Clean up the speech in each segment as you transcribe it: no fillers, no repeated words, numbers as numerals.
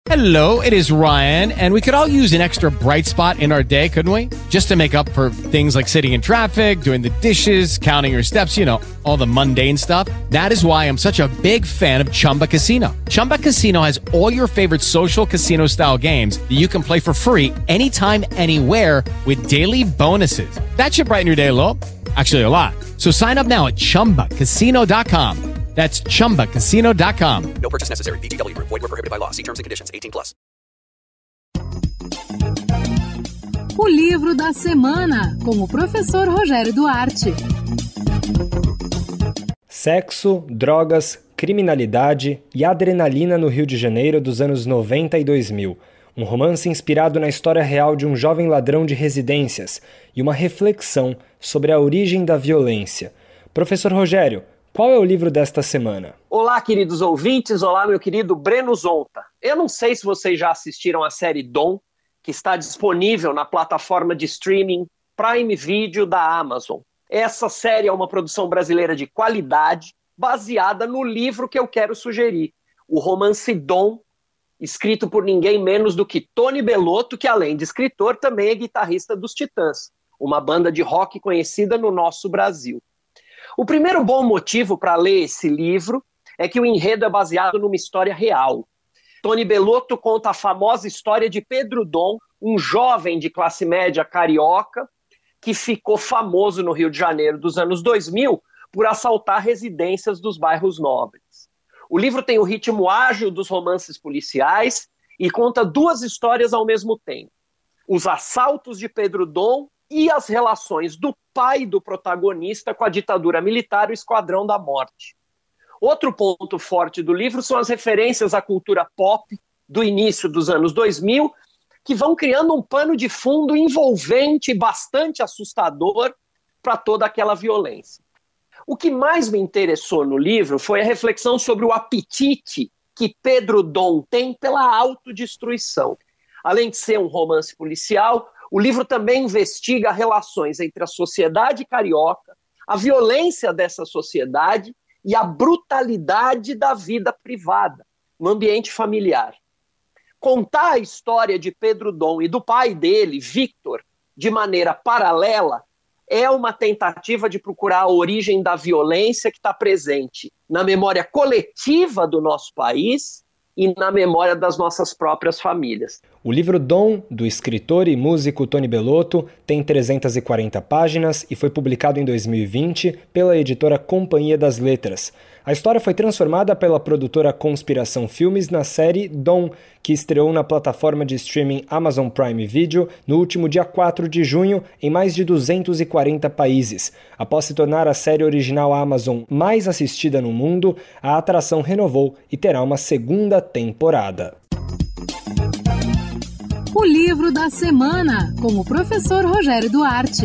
Hello, it is Ryan, and we could all use an extra bright spot in our day, couldn't we? Just to make up for things like sitting in traffic, doing the dishes, counting your steps, you know, all the mundane stuff. That is why I'm such a big fan of Chumba Casino. Chumba Casino has all your favorite social casino-style games that you can play for free anytime, anywhere with daily bonuses. That should brighten your day a little. Actually, a lot. So sign up now at ChumbaCasino.com. That's ChumbaCasino.com. No purchase necessary. VGW Group. Void where prohibited by law. See terms and conditions. 18+. O livro da semana, com o professor Rogério Duarte. Sexo, drogas, criminalidade e adrenalina no Rio de Janeiro dos anos 90 e 2000. Um romance inspirado na história real de um jovem ladrão de residências e uma reflexão sobre a origem da violência. Professor Rogério, qual é o livro desta semana? Olá, queridos ouvintes. Olá, meu querido Breno Zonta. Eu não sei se vocês já assistiram a série Dom, que está disponível na plataforma de streaming Prime Video da Amazon. Essa série é uma produção brasileira de qualidade, baseada no livro que eu quero sugerir, o romance Dom, escrito por ninguém menos do que Tony Bellotto, que além de escritor, também é guitarrista dos Titãs, uma banda de rock conhecida no nosso Brasil. O primeiro bom motivo para ler esse livro é que o enredo é baseado numa história real. Tony Bellotto conta a famosa história de Pedro Dom, um jovem de classe média carioca que ficou famoso no Rio de Janeiro dos anos 2000 por assaltar residências dos bairros nobres. O livro tem o ritmo ágil dos romances policiais e conta duas histórias ao mesmo tempo. Os assaltos de Pedro Dom e as relações do pai do protagonista com a ditadura militar e o Esquadrão da Morte. Outro ponto forte do livro são as referências à cultura pop do início dos anos 2000, que vão criando um pano de fundo envolvente e bastante assustador para toda aquela violência. O que mais me interessou no livro foi a reflexão sobre o apetite que Pedro Dom tem pela autodestruição. Além de ser um romance policial, o livro também investiga relações entre a sociedade carioca, a violência dessa sociedade e a brutalidade da vida privada, no ambiente familiar. Contar a história de Pedro Dom e do pai dele, Victor, de maneira paralela, é uma tentativa de procurar a origem da violência que está presente na memória coletiva do nosso país e na memória das nossas próprias famílias. O livro Dom, do escritor e músico Tony Bellotto, tem 340 páginas e foi publicado em 2020 pela editora Companhia das Letras. A história foi transformada pela produtora Conspiração Filmes na série Dom, que estreou na plataforma de streaming Amazon Prime Video no último dia 4 de junho em mais de 240 países. Após se tornar a série original Amazon mais assistida no mundo, a atração renovou e terá uma segunda temporada. O livro da semana, com o professor Rogério Duarte.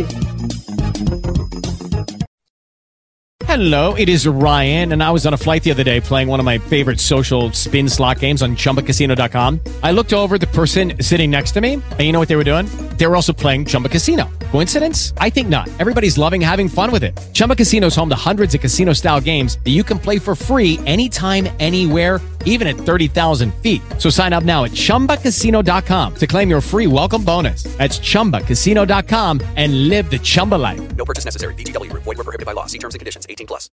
Hello, it is Ryan, and I was on a flight the other day playing one of my favorite social spin slot games on ChumbaCasino.com. I looked over at the person sitting next to me, and you know what they were doing? They were also playing Chumba Casino. Coincidence? I think not. Everybody's loving having fun with it. Chumba Casino is home to hundreds of casino-style games that you can play for free anytime, anywhere, even at 30,000 feet. So sign up now at ChumbaCasino.com to claim your free welcome bonus. That's ChumbaCasino.com and live the Chumba life. No purchase necessary. VGW Group. Void where prohibited by law. See terms and conditions. 18+.